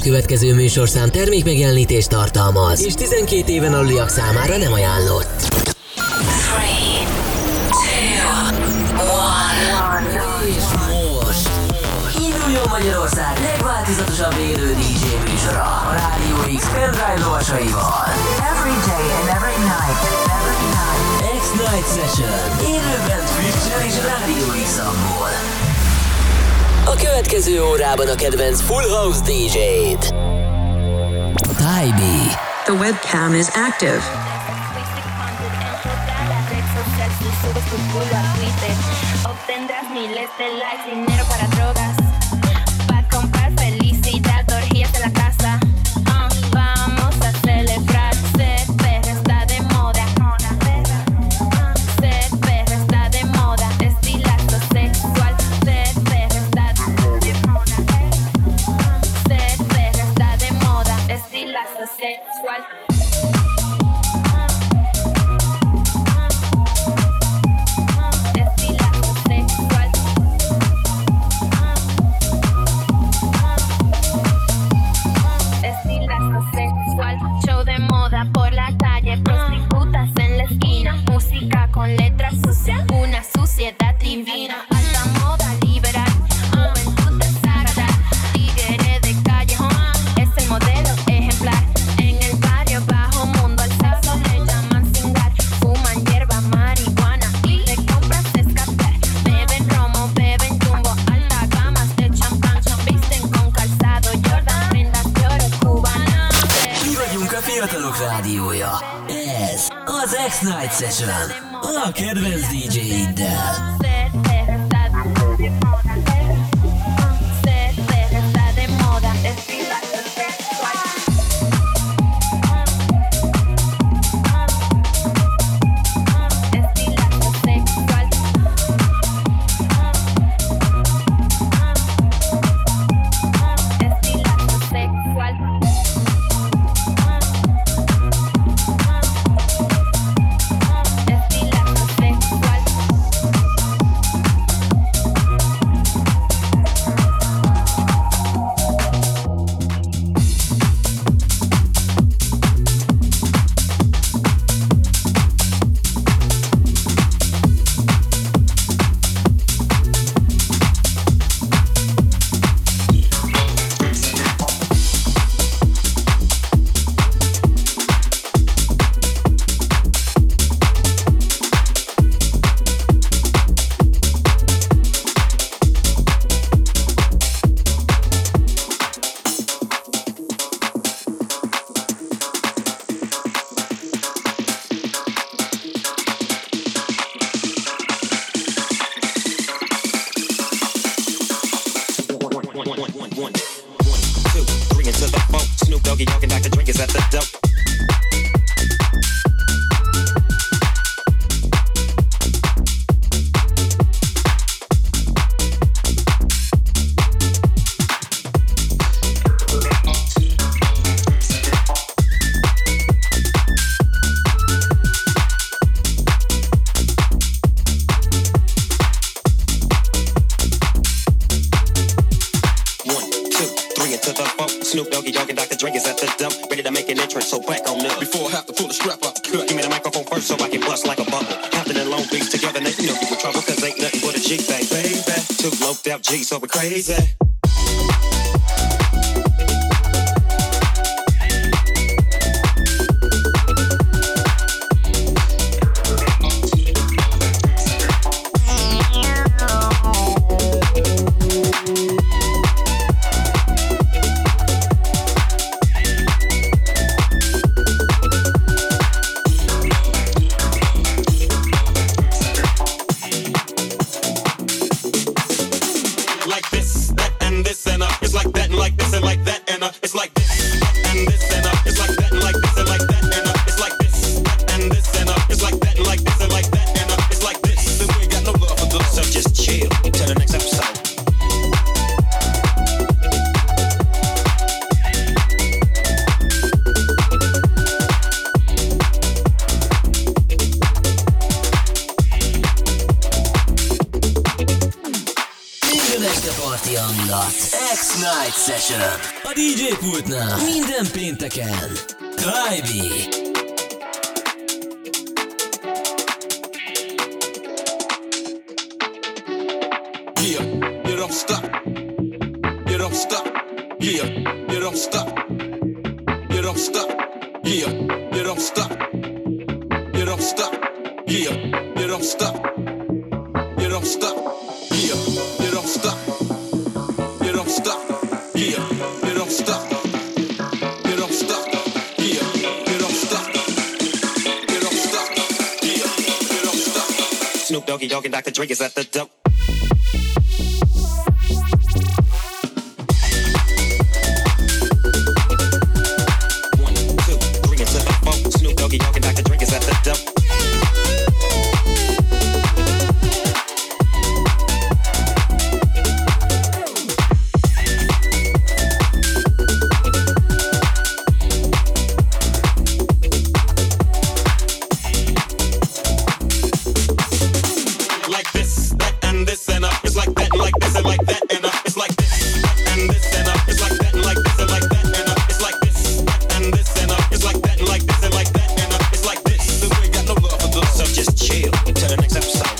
következő műsorszám termékmegjelenítést tartalmaz, és 12 éven aluliak számára nem ajánlott. 3, 2, 1. És most induljon Magyarország legváltozatosabb élő DJ műsora a Rádió X pendrive lovasaival. Every day and every night. X-Night Session. Élőben Twitch-en és Rádió X-amból. A következő órában a kedvenc Full House DJ-t. Tybee. The webcam is active. Obtendrás miles de likes, dinero para drogas, para comprar felicidad, orgías de la casa. Vamos a celebrar, ser perra está de moda. Ser perra está de moda, estilazo sexual. Ser perra está de moda. Ser perra está de moda, estilazo sexual. Por la calle, prostitutas en la esquina, música con letras sucias, una suciedad divina, alta moda liberal, juventud desagrada, tigre de calle, es el modelo ejemplar, en el barrio bajo mundo al sexo le llaman cingar, fuman hierba, marihuana y de compras escapar, beben romo, beben jumbo, alta gamas de champán, visten con calzado Jordan, prendas de oro cubana. Mi vagyunk a fiatalok rádiója. Ez az X-Night Session. A kedvenc DJ-iddel. So we're crazy. X-Night Session. A DJ pultnál minden pénteken Tribe. Yeah, you don't stop. You don't stop. Yeah, you don't stop. You don't stop. Yeah, you don't stop. You don't stop. Yeah, you don't stop. You don't stop. Yeah, you don't stop. You don't stop. Yeah, you don't stop. You don't stop. Yeah, you don't stop. You don't stop. Yeah, you don't stop. Snoop Doggy Dogg and Dr. Dre is at the dope. Snoop Doggy Dogg and Dr. Dre is at the dope. Like this, that, and this, and up. It's like that, and like this, and like that, and up. It's like this, that, and this, and up. It's like that, and like this, and like that, and up. It's like this, that, and this, and up. It's like that, and like this, and like that, and up. It's like this. So we ain't got no love for those. So just chill till the next episode.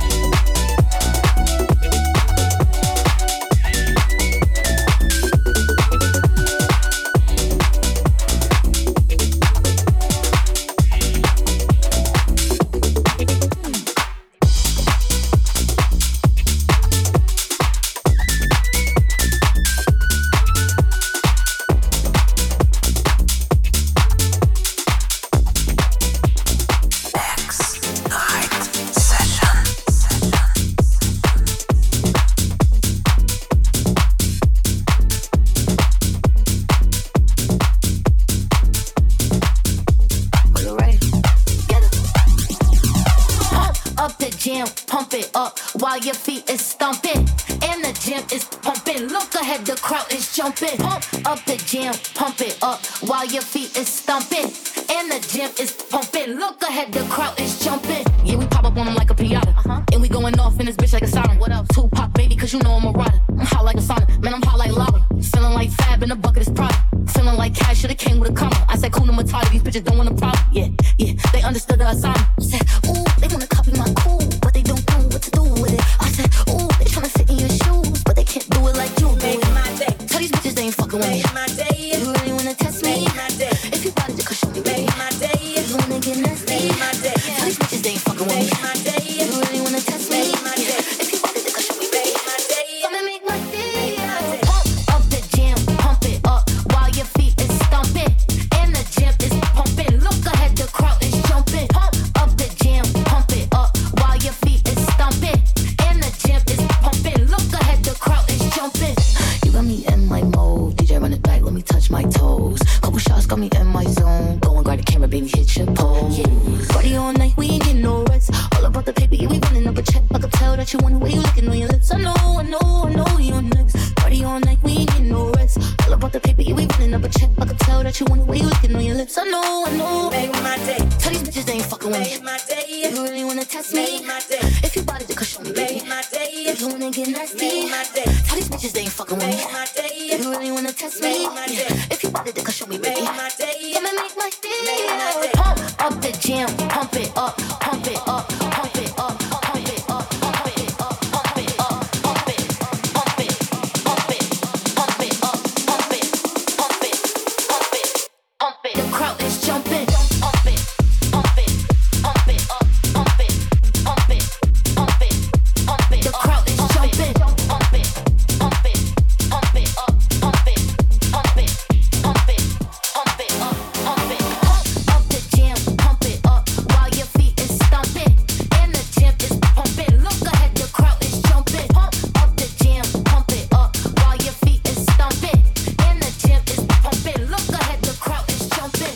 Pump it up while your feet is stomping. And the gym is pumping. Look ahead, the crowd is jumping. Pump up the gym, pump it up while your feet is stomping. And the gym is pumping. Look ahead, the crowd is jumping. Yeah, we pop up on them like a piñata. And we going off in this bitch like a siren. What else? Tupac, baby, cause you know I'm a rider. I'm hot like a sauna, man, I'm hot like lava. Feeling like Fab in a bucket is Prada. Feeling like Cash should've came with a comma. I said, Kuna Matata, these bitches don't want a problem. Yeah, they understood the assignment. Said, ooh, they wanna copy my cool, but they don't know what to do with it. I said, ooh, they tryna fit in your shoes, but they can't do it like you do it. Tell these bitches they ain't fucking with me. You really wanna test me? If you bought it, just show me, baby. You wanna get nasty? Tell these bitches they ain't fucking with me. You really wanna test me? If you bought it, just show me, baby. Come and make my day. Pump up the gym, pump it up while your feet is stomping. And the gym is pumping. Look ahead, the crowd is jumping. Pump up the gym, pump it up while your feet is stomping. And the gym is pumping. Look ahead, the crowd is jumping. You got me in my mode. DJ run it back, let me touch my toes. Couple shots got me in my zone. Go and grab the camera, baby, hit your pose. Party all night, we ain't getting no rest. All about the paper, yeah, we running up a check. I can tell that you want the way you looking on your lips. I know you're next. Party all night, we ain't getting no rest. All about the paper, yeah, we running up a check. I can tell that you want the way you looking on your lips. I know. Make my day. Tell these bitches they ain't fucking with me. Make my day. You really wanna test me? Make my day. If you bought it, just show me, baby. Make my day. If you wanna get nasty? Make my day. Tell these bitches they ain't fucking with me. Make my day. You really wanna test me? Make my day. If you bought it, just show me, baby. Make my day. Come and make my day. Pump up the gym, pump it up, pump it up, pump it up, pump it up, pump it up, pump it up, pump it, pump it, pump it, pump it up, pump it, pump it, pump it, pump it. The crowd is jumping. Pump it, pump it, pump it up, pump it, pump it, pump it, pump it. The crowd is jumping. Pump it, pump it, pump it up, pump it, pump it, pump it, pump it up, pump it. Pump up the gym, pump it up while your feet is stomping. And the gym is pumping. Look ahead, the crowd is jumping. Pump up the gym, pump it up while your feet is stomping. And the gym is pumping. Look ahead, the crowd is jumping.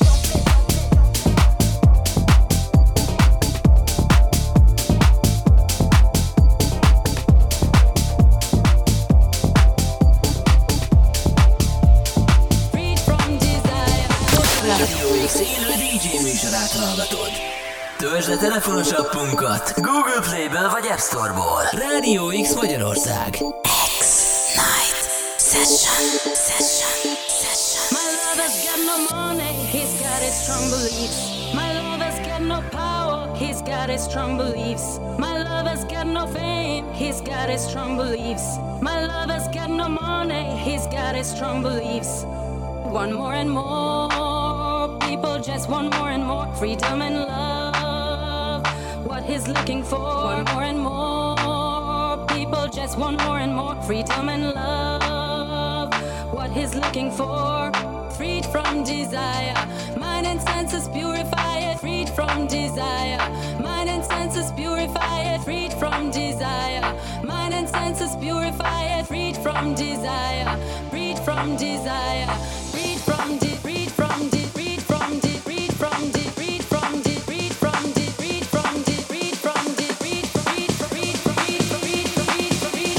Radio X élő DJ műsorát hallgatod. Töltsd le telefonos appunkat Google Play-ből vagy App Store-ból. Radio X Magyarország. X-Night My lover's got no money, he's got his strong beliefs. My lover's got no power, he's got his strong beliefs. My lover's got no fame, he's got his strong beliefs. My lover's got no money, he's got his strong beliefs. Want more and more, people just want more and more freedom and love. What he's looking for, want more and more, people just want more and more freedom and love. What he's looking for, freed from desire, mind and senses purify it, freed from desire, mind and senses purify it, freed from desire, mind and senses purify it, freed from desire, freed from desire, freed from de, freed from de, freed from de, freed from de, freed from de, freed from de, freed from de, freed from de, freed freed freed freed freed freed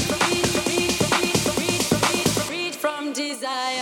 freed freed from desire.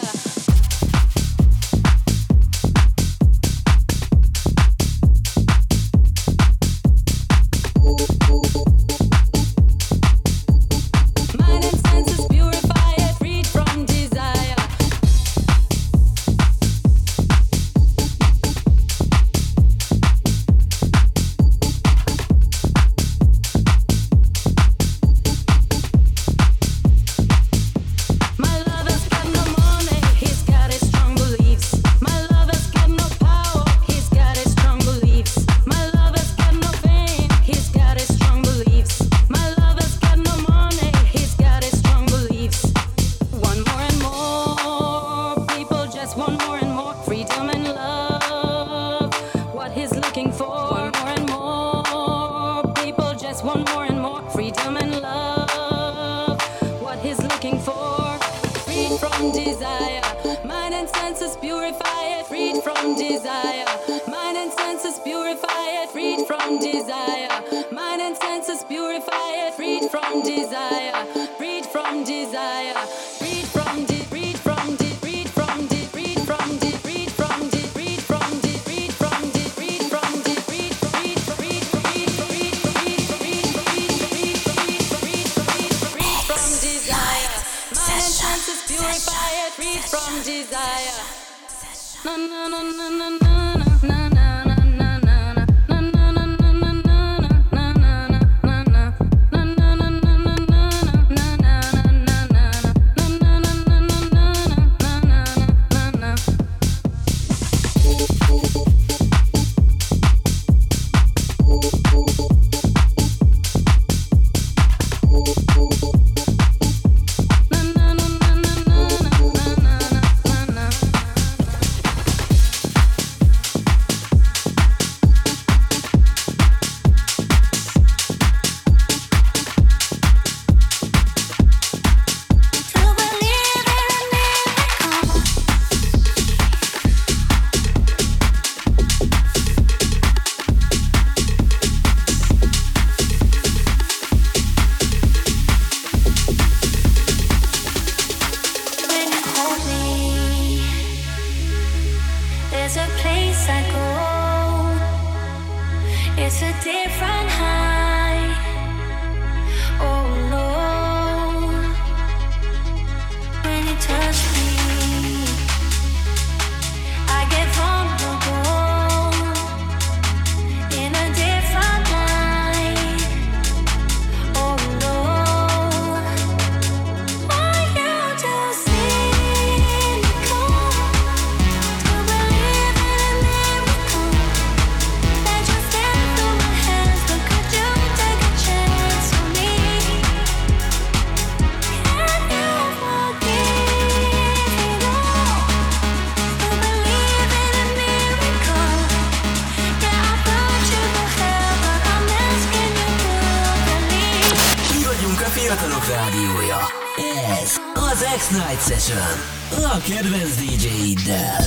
X-Night Session a kedvenc DJ-iddel.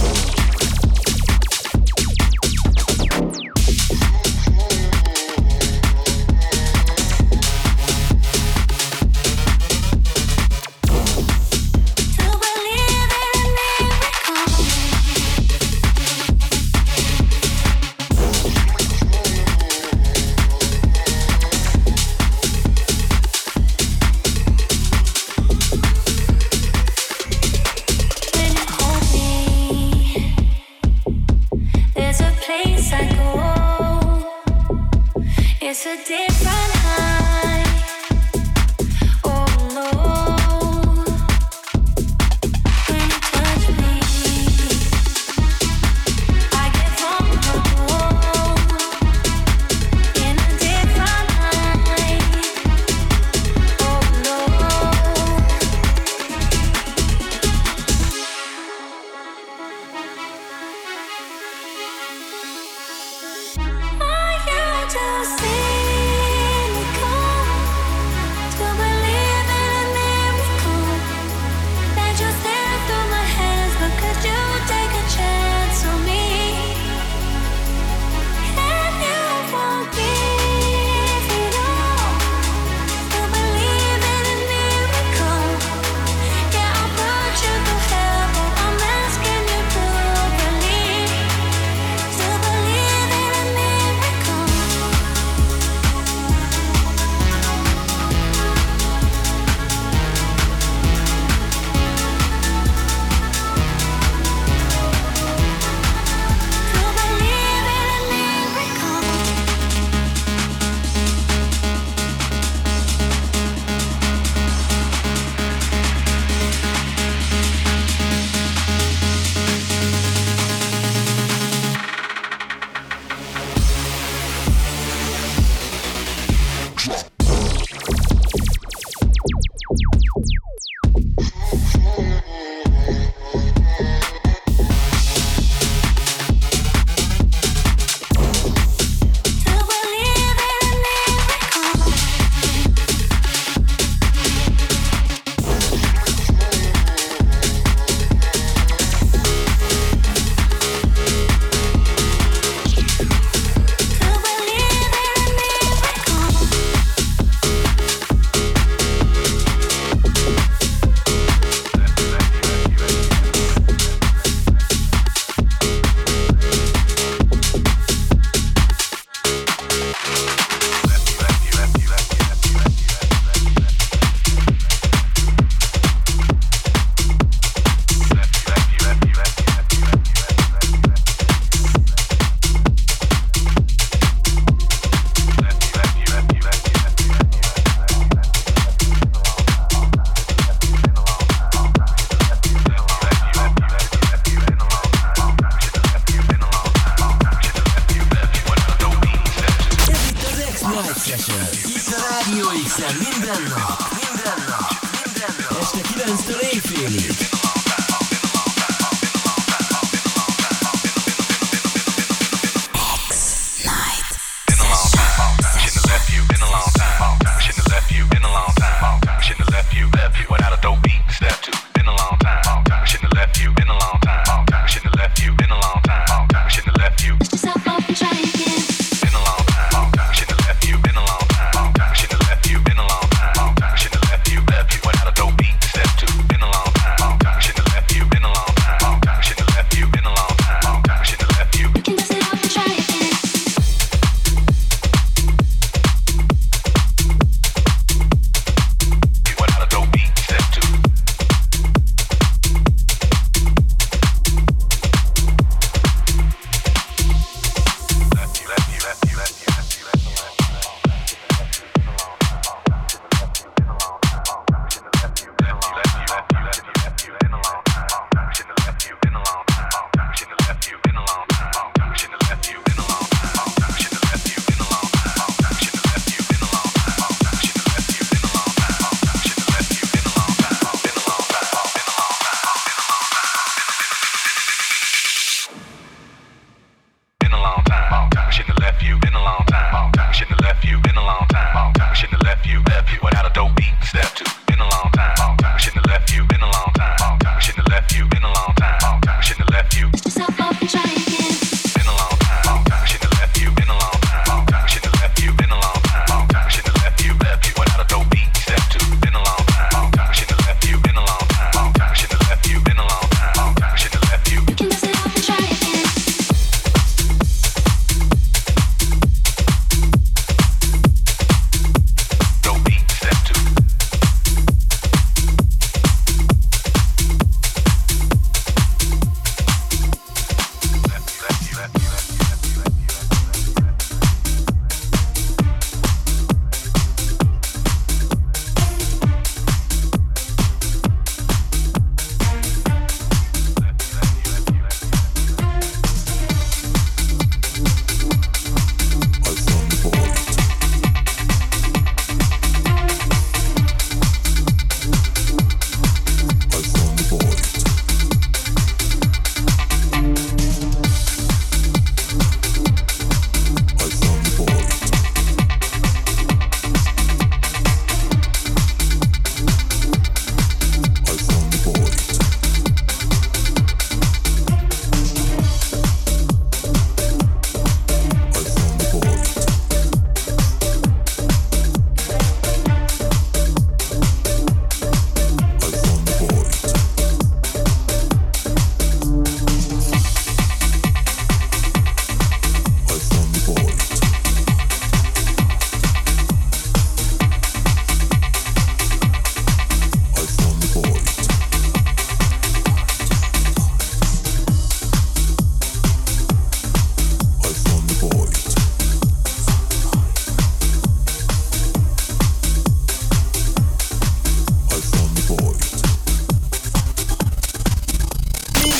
a different high. Oh no, when you touch me, I get vulnerable in a different high. Oh no. For you to see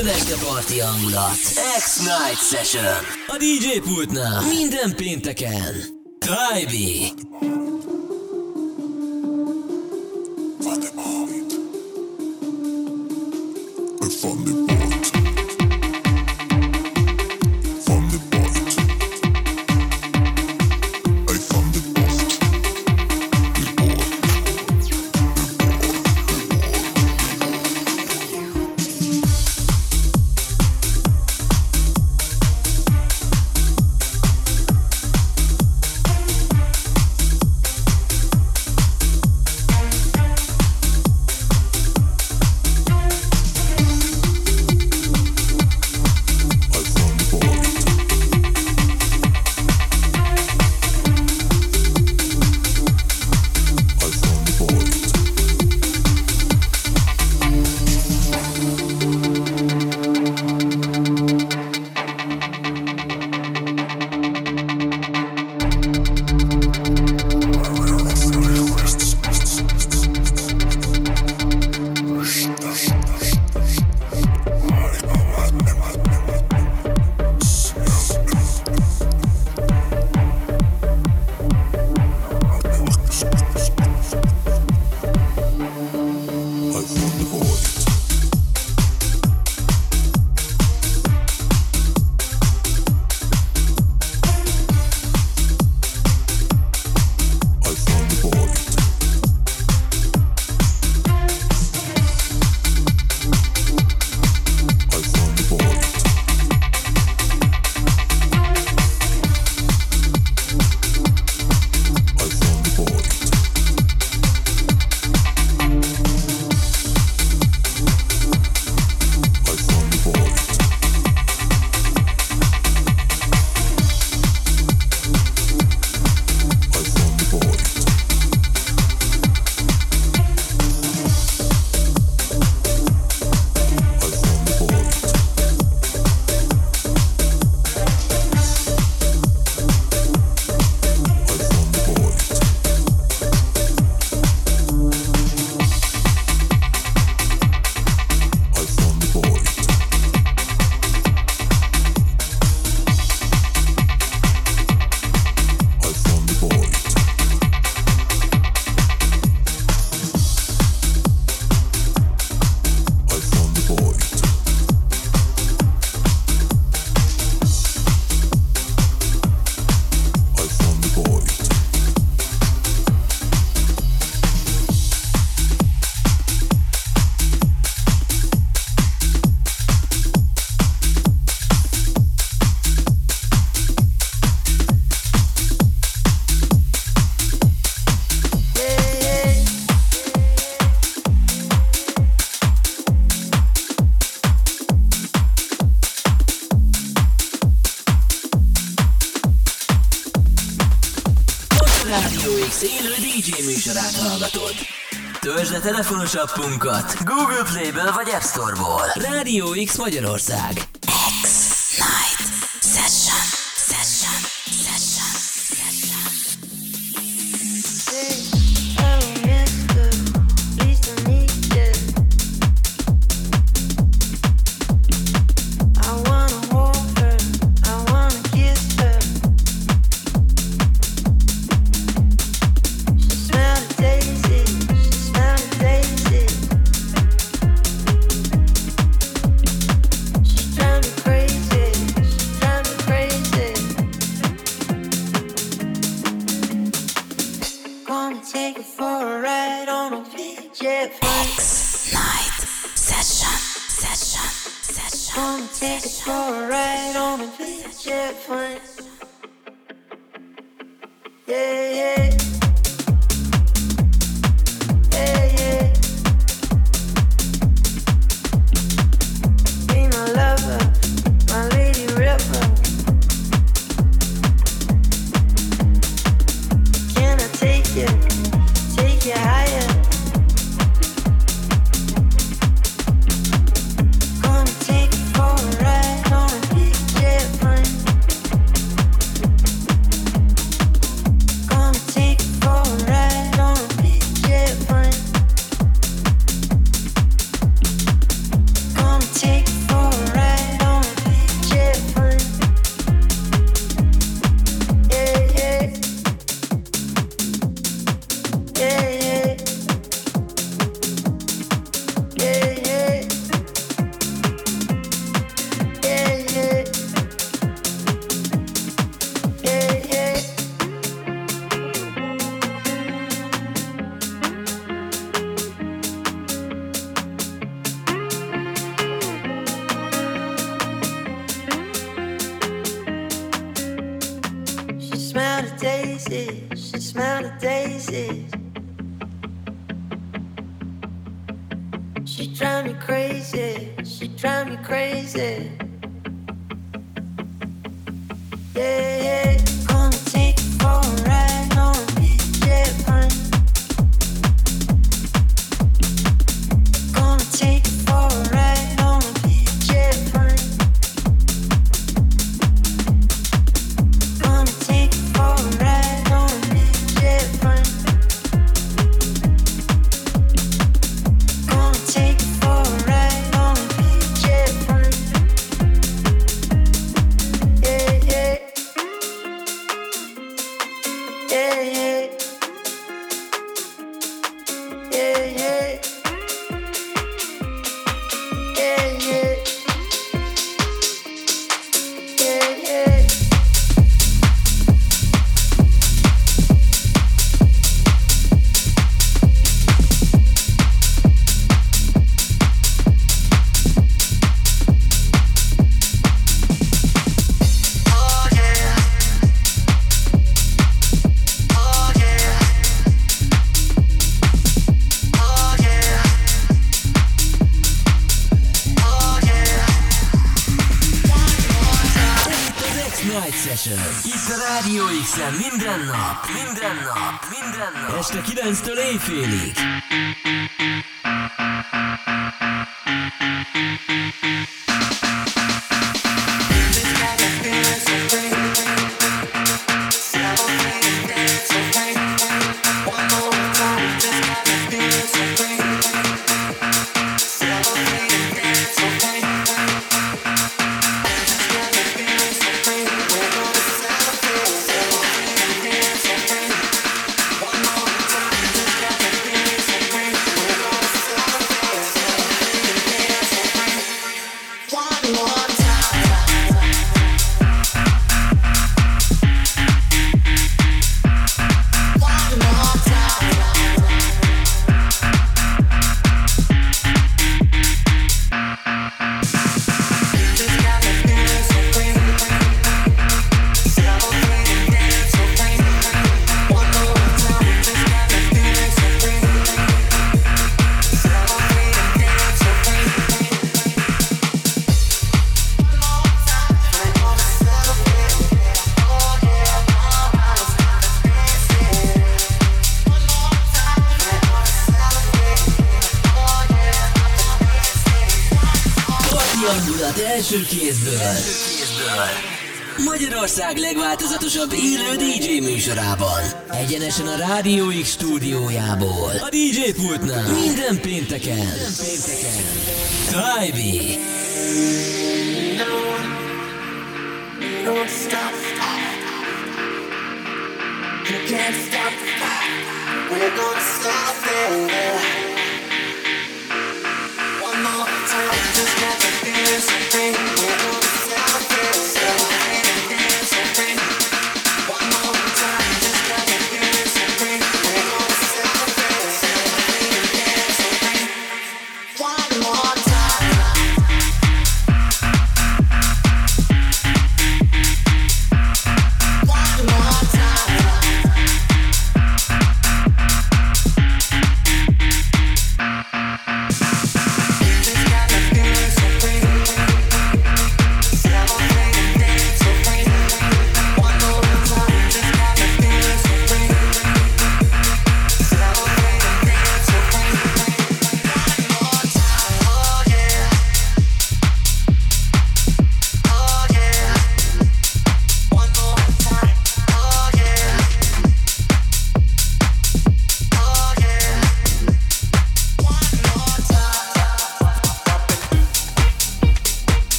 Kövesd a parti hangulat. X-Night Session. A DJ pultnál minden pénteken. Tribe. Rádió X élő DJ műsorát hallgatod. Töltsd le telefonos appunkat Google Play-ből vagy App Store-ból. Rádió X Magyarország. X-Night Session. Take faces, she smelled the daisies. She drive me crazy, she drive me crazy. Yeah, yeah, gonna take you for a ride on a jet plane. Gonna take you for a ride on a jet plane. Gonna take you for a ride on a jet plane. Gonna take you for a ride on a jet plane. Yeah, yeah. Yeah, yeah. Yeah, yeah. Yeah, yeah. Yeah, yeah. Oh yeah. Oh yeah. Oh yeah. Oh yeah. Az X-Night Session. Itt a Rádió X-en minden nap. Este 9-től éjfélig. Hangulat első kézből. Magyarország legváltozatosabb élő DJ műsorában. Egyenesen a Rádió X stúdiójából. A DJ pultnál. Minden pénteken. Tybee. Don't stop. You can't stop. We're gonna stop there. One more time, just got to feel something. We're gonna stop there. Celebrate something. One more time, just got to feel something. We're gonna stop there. Celebrate something. One more time.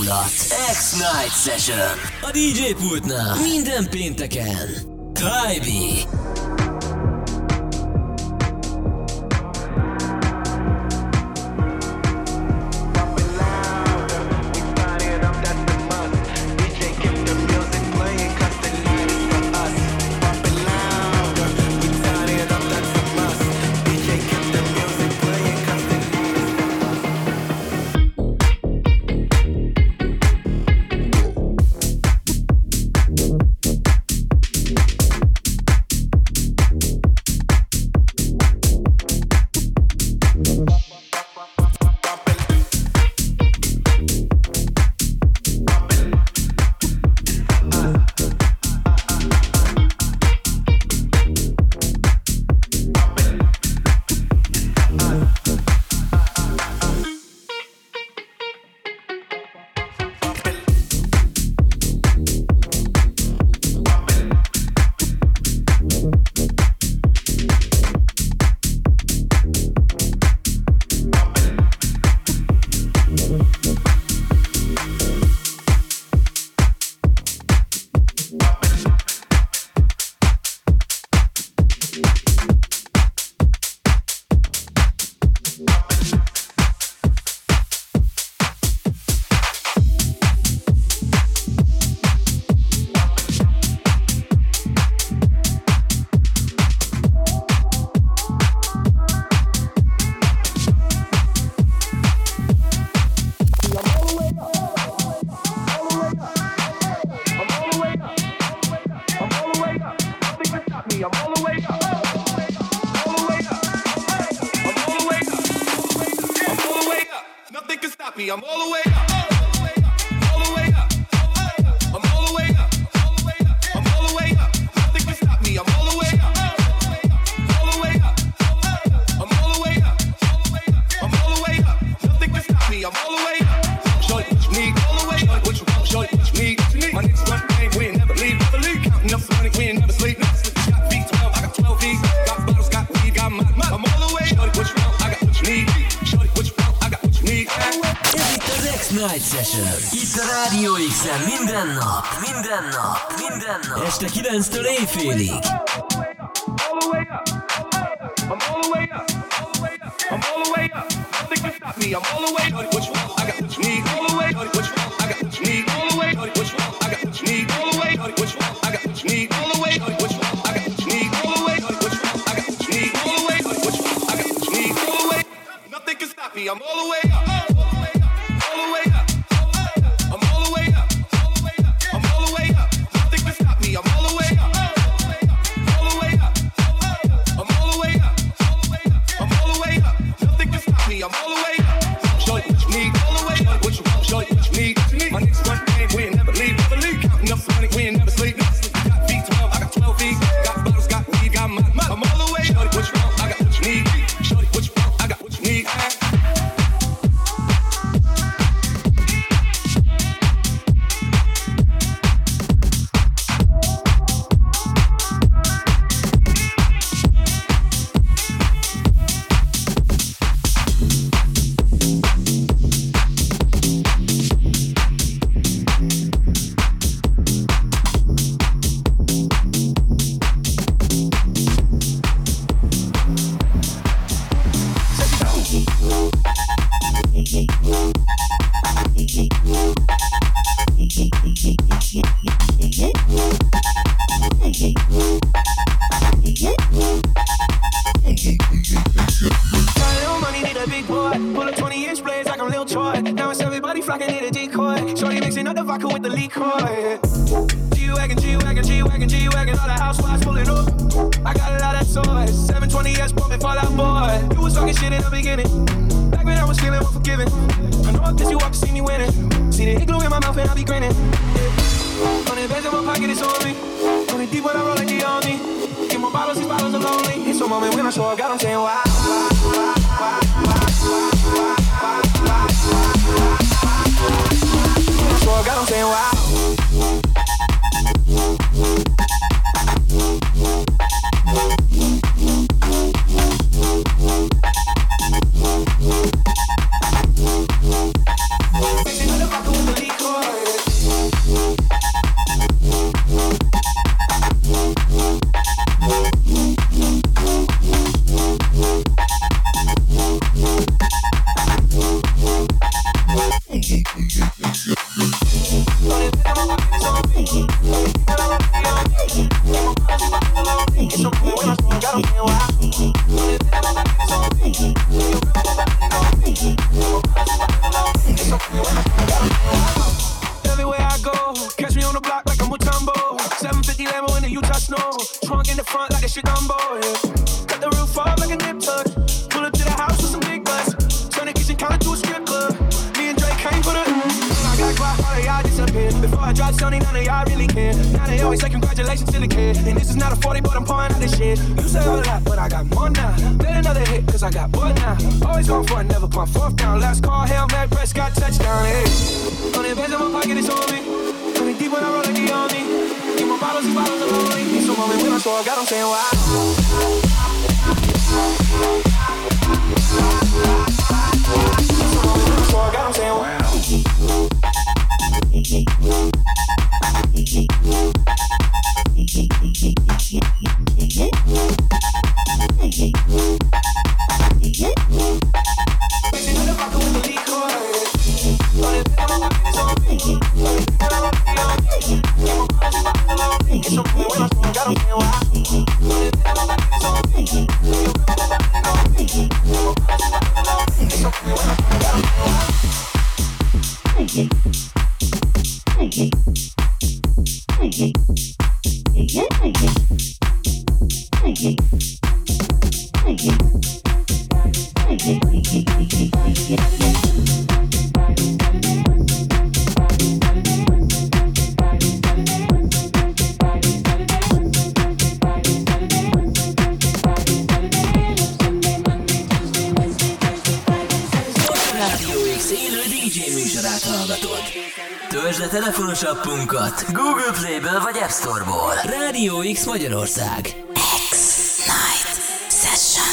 hangulat. X-Night Session. A DJ pultnál minden pénteken. Tybee. Este 9-től éjfélig. the block like I'm Mutombo. 750 Lambo in the Utah snow. Trunk in the front like a shit Dumbo. Yeah. Cut the roof off like a nip tuck. Pull up to the house with some big butts. Turn the kitchen counter to a strip club. Me and Drake came for the. I got quiet, all of y'all disappear. Before I dropped Sony, none of y'all really care. Now they always say congratulations to the kid. And this is not a 40, but I'm pouring out this shit. You say a lot, but I got more now. Let another hit, cause I got more now. Always going for it, never pump fourth down. Last call, Hail Mary, Prescott, touchdown, hey. 100 bands in my pocket, it's on me. 20 deep when I roll like the on me. Get my bottles, these bottles are lonely. So moment when I saw, I got them saying why. So I got them saying wow. Töltsd le telefonos appunkat Google Play-ből vagy App Store-ból. Rádió X Magyarország. X-Night Session.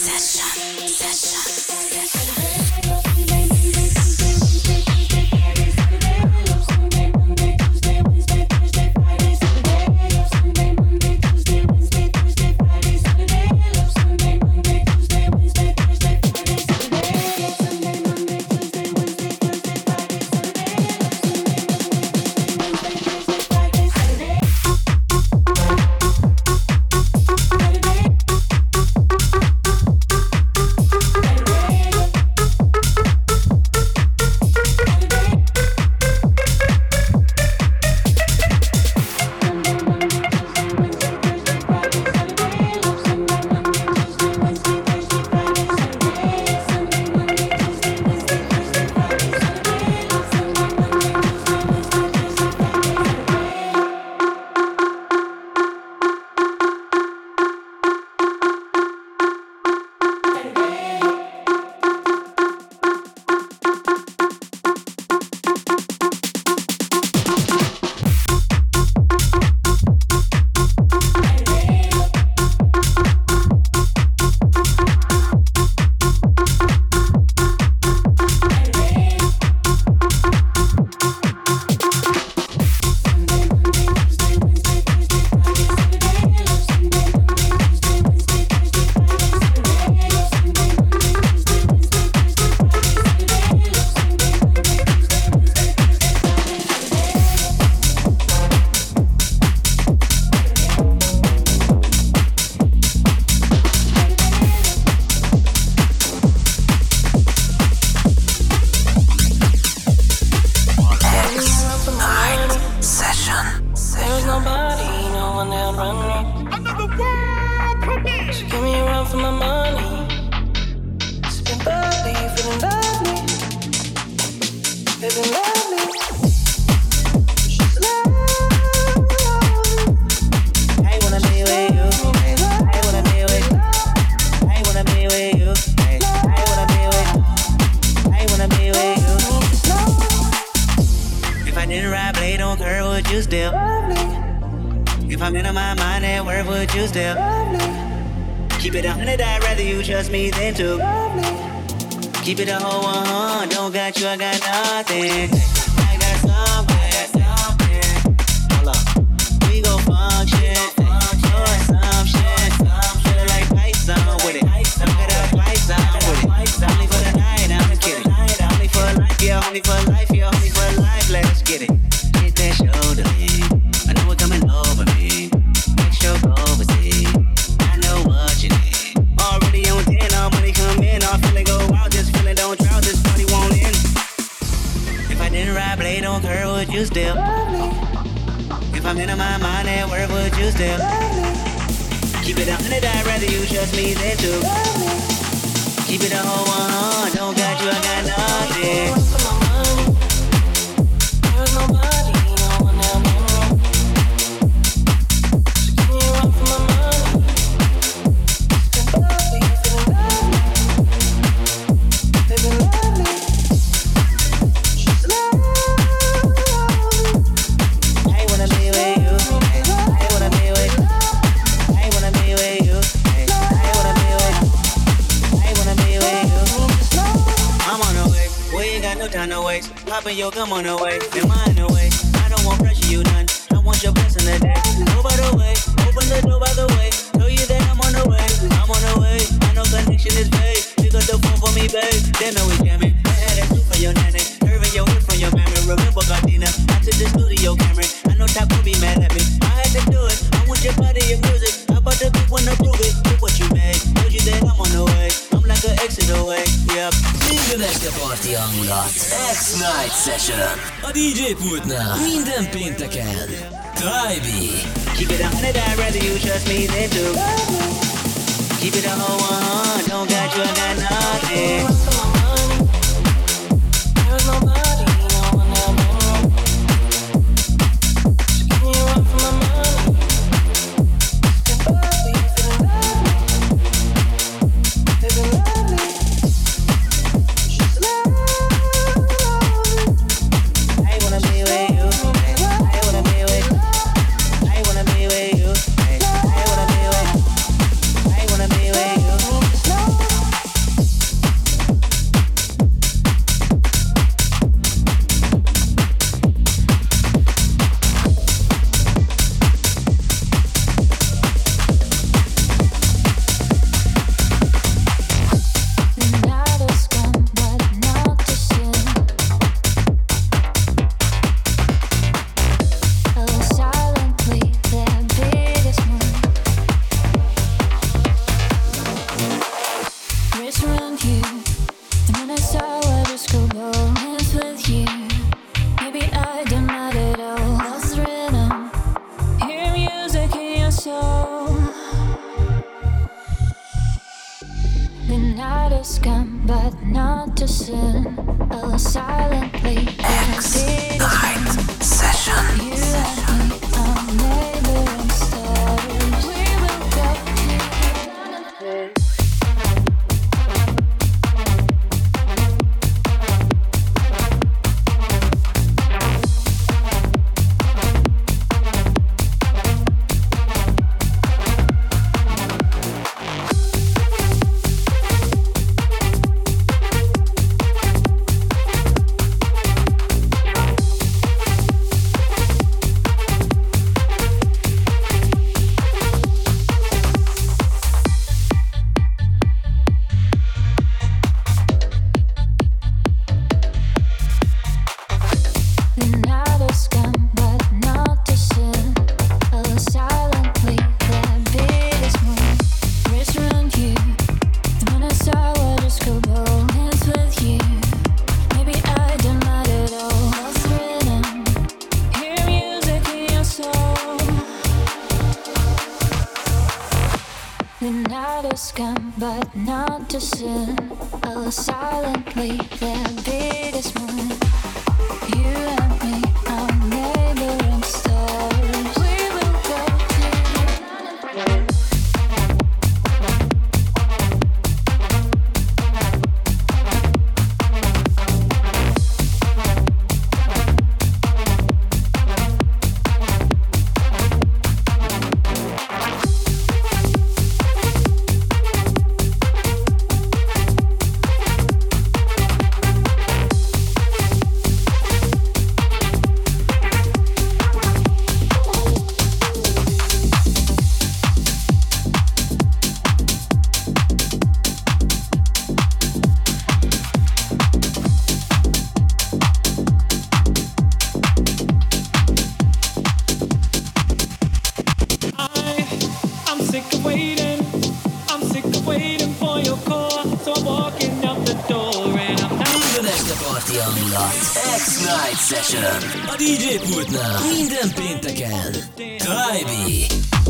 Keep it a whole 100, don't got you, I got nothing. I got something. Hold up, we gon' function. Doing some shit. Feeling like Python with it. I'm gonna Python with it. Only for the night, I'm kidding. Only for life, yeah, only for life, yeah, only for life. Let's get it. Hit that shoulder, I know what coming over me. Make sure go overseas. I know what you need. Already on 10, all money come in, all feeling go out. This feeling don't drought, this party won't end. If I didn't If I'm in my mind at work, would you still love me? Keep it 100, I'd rather you trust me than to love me. Keep it a whole 100, don't got you, I got nothing. There's nobody, no one else. So give me a run for my money. Still love me, feeling lovely. Baby, love me. Just love me. I wanna be with you. I wanna be with you. I wanna be with you. I wanna be with you. I wanna be with you. I'm on the way. We ain't got no time to waste. Poppin' your gum on the way. Am I in the way? I don't want pressure, you none. I want your blessing today. Go by the way. Open the door by the way. Tell you that I'm on the way. I'm on the way. I know connection is vague. Pick up the phone for me, babe. They know we jamming. I had that soup for your nanny. Curving your hip from your mammy. Remember Gardena. I took the studio camera. I know Top will be mad at me. I had to do it. I want your body, your music. I bought the big one to prove it. Look what you made. Told you that I'm on the way. I'm like an exit away. Yep. Minden este parti hangulat. X-Night Session. A DJ pultnál minden pénteken. Tribe. Keep it 100, I'd rather you trust me than to love me. Keep it a whole 100, don't got you, I got nothing. There's nobody, no one else. So give me a run for my money. Still love me, feeling lovely. Baby, love me. Just love me. I wanna be with you. I wanna be with you. I wanna be with you. I wanna be with you. I wanna be with you. But not to sin. I will silently their biggest moon. You and me are neighboring stars. We will go hangulat. X-Night Session. A DJ pultnál minden pénteken. Tribe.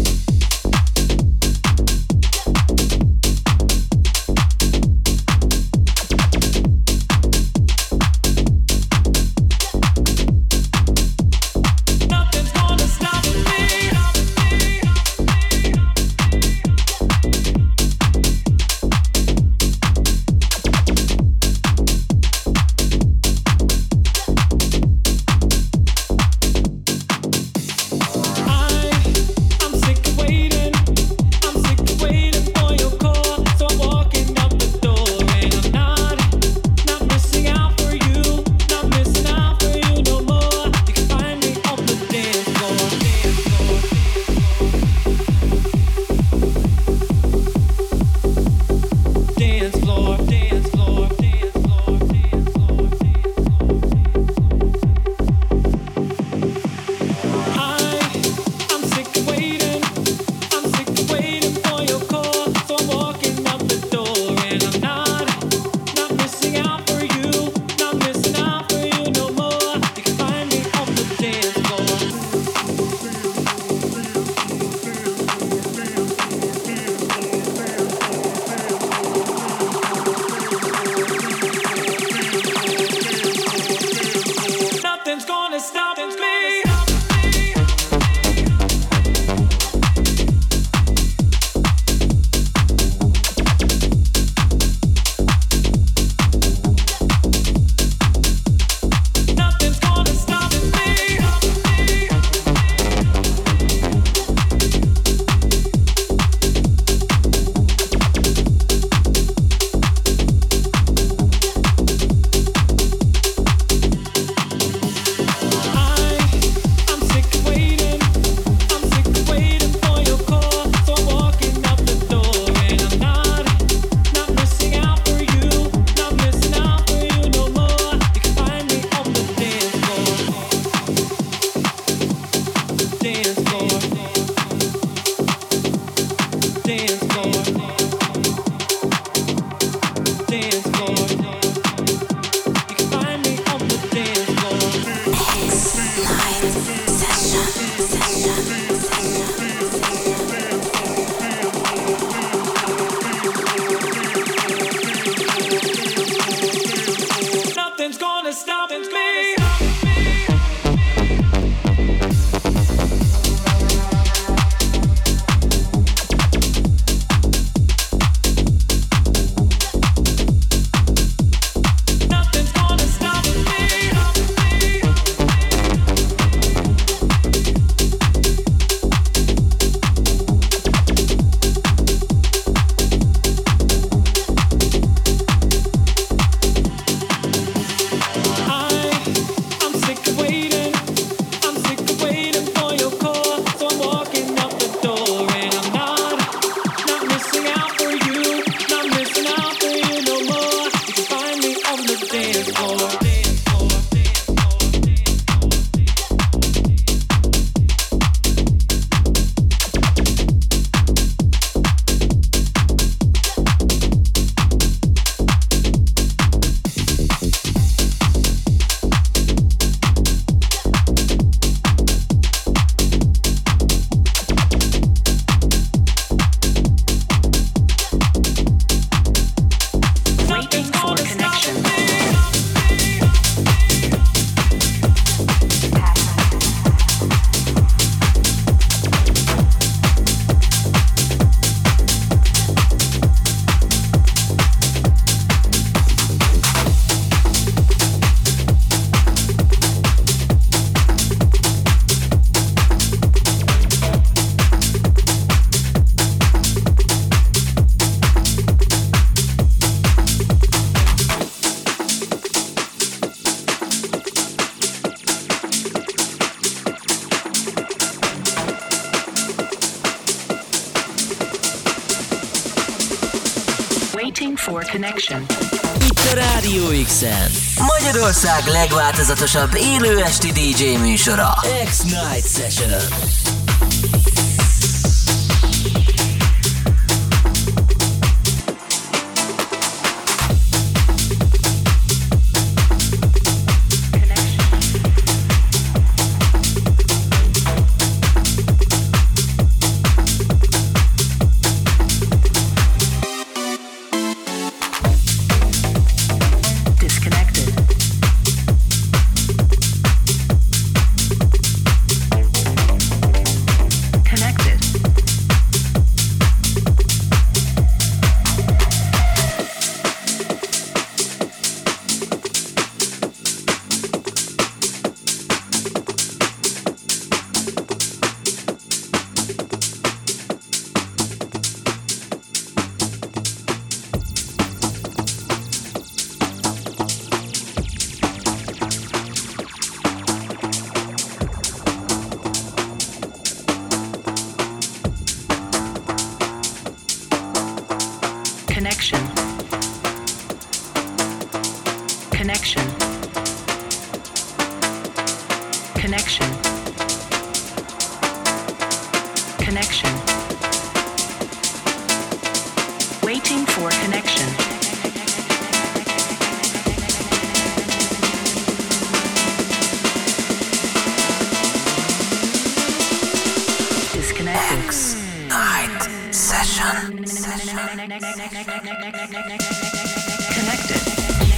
for connection. Itt a Rádió X-en Magyarország legváltozatosabb élő esti DJ műsora, X-Night Session. X-Night Session. Connected.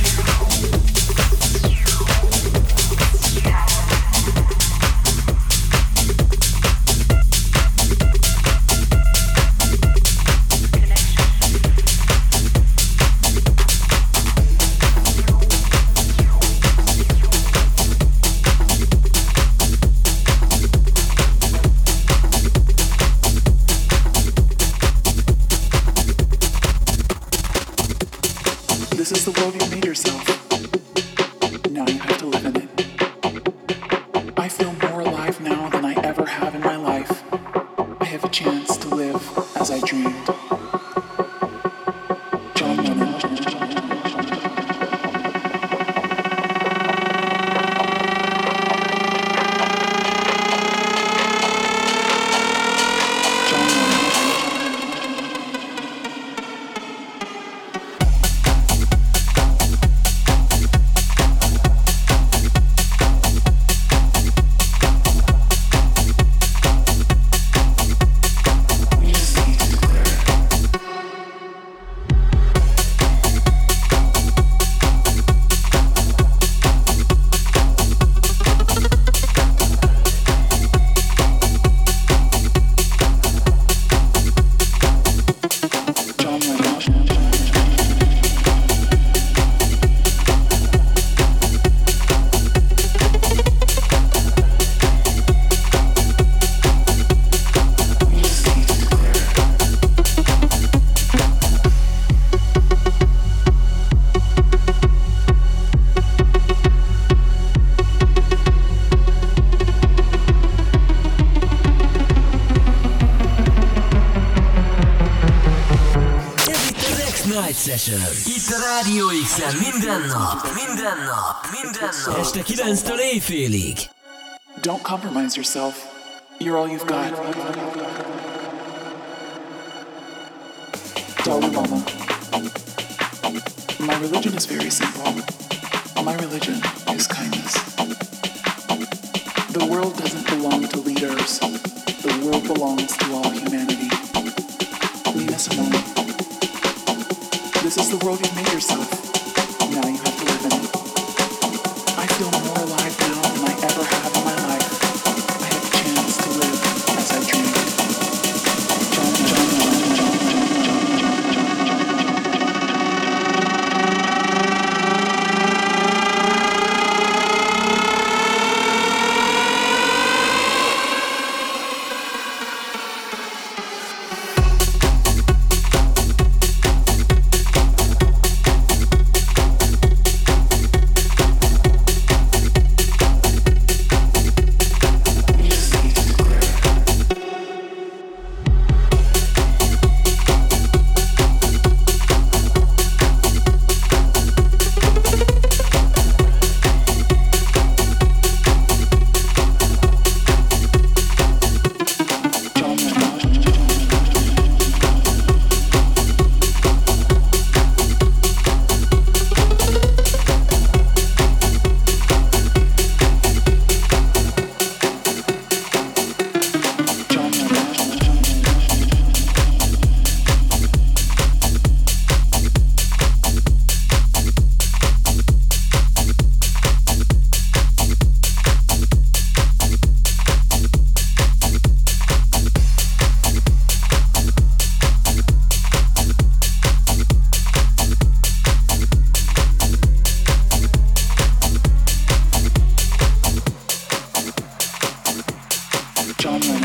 This is the world you made yourself. Now you have to live in it. I feel more alive now than I ever have in my life. I have a chance to live as I dreamed. John Lennon. Session. Itt a Rádió X-en minden nap. Este 9-től éjfélig. Don't compromise yourself. You're all you've got. Dalai Lama. My religion is very simple. My religion is kindness. The world doesn't belong to leaders. The world belongs to all humanity. Nina Simone. This is the world you've made yourself. Now you have to live in it. I feel more alive now than I ever have in my life. I have a chance to live as I dreamed. John Lennon.